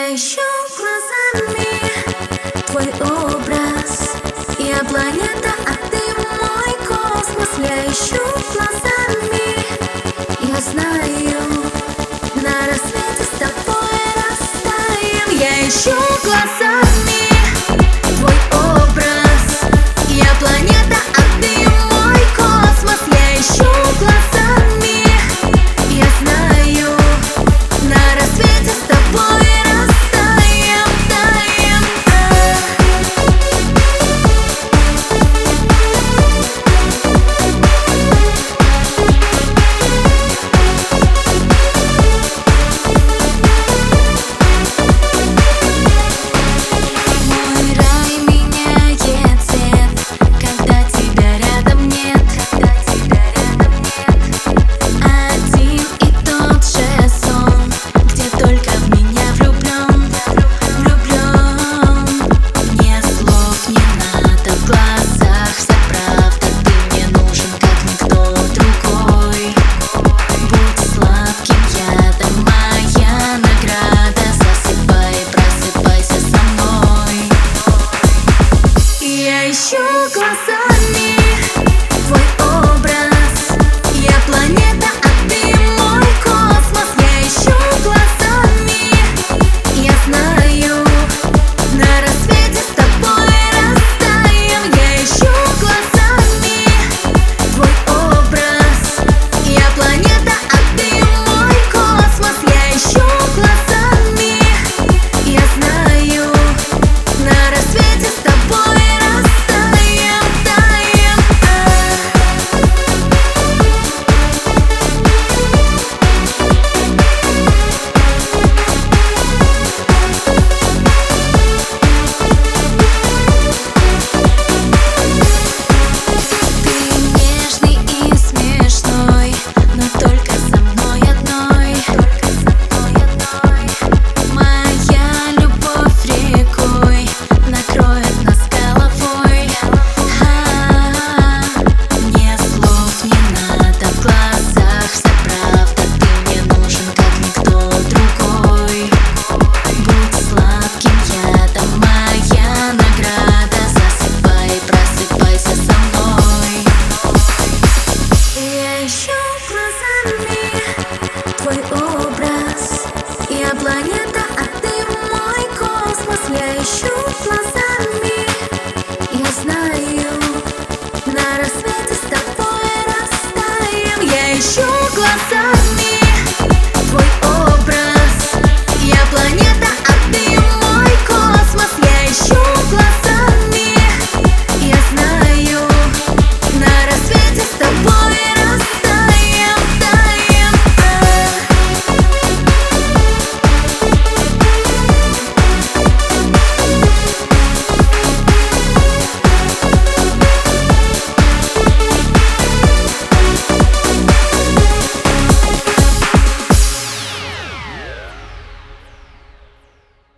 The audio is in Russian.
Я ищу глазами твой образ. Я планета, а ты мой космос. Я ищу глазами, я знаю, на рассвете с тобой растаем. Я ищу глазами твой образ. Я планета, а ты мой космос. Я ищу глазами, я знаю, на рассвете с тобой растаем, таем. Мой рай меняет цвет, когда тебя рядом нет. Один и тот же сон, где только в меня влюблен. Мне слов не надо, в глазах вся правда. Ты мне нужен, как никто другой. Будь сладким ядом, моя награда. Засыпай, просыпайся со мной. Я ищу глазами твой образ. Я планета, а ты мой космос. Я ищу глазами, я знаю, на рассвете с тобой растаем. Я ищу глазами твой образ. Я планета, а ты мой космос. Я ищу глазами, я знаю, на рассвете с тобой растаем, таем. Ты нежный и смешной, но только со мной одной. Моя любовь рекой накроет нас головой. Мне слов не надо, в глазах вся правда. Ты мне нужен, как никто другой. Будь сладким ядом, моя награда. Засыпай, просыпайся со мной. Я ищу глазами твой образ. Я планета, а ты мой космос. Я ищу глазами.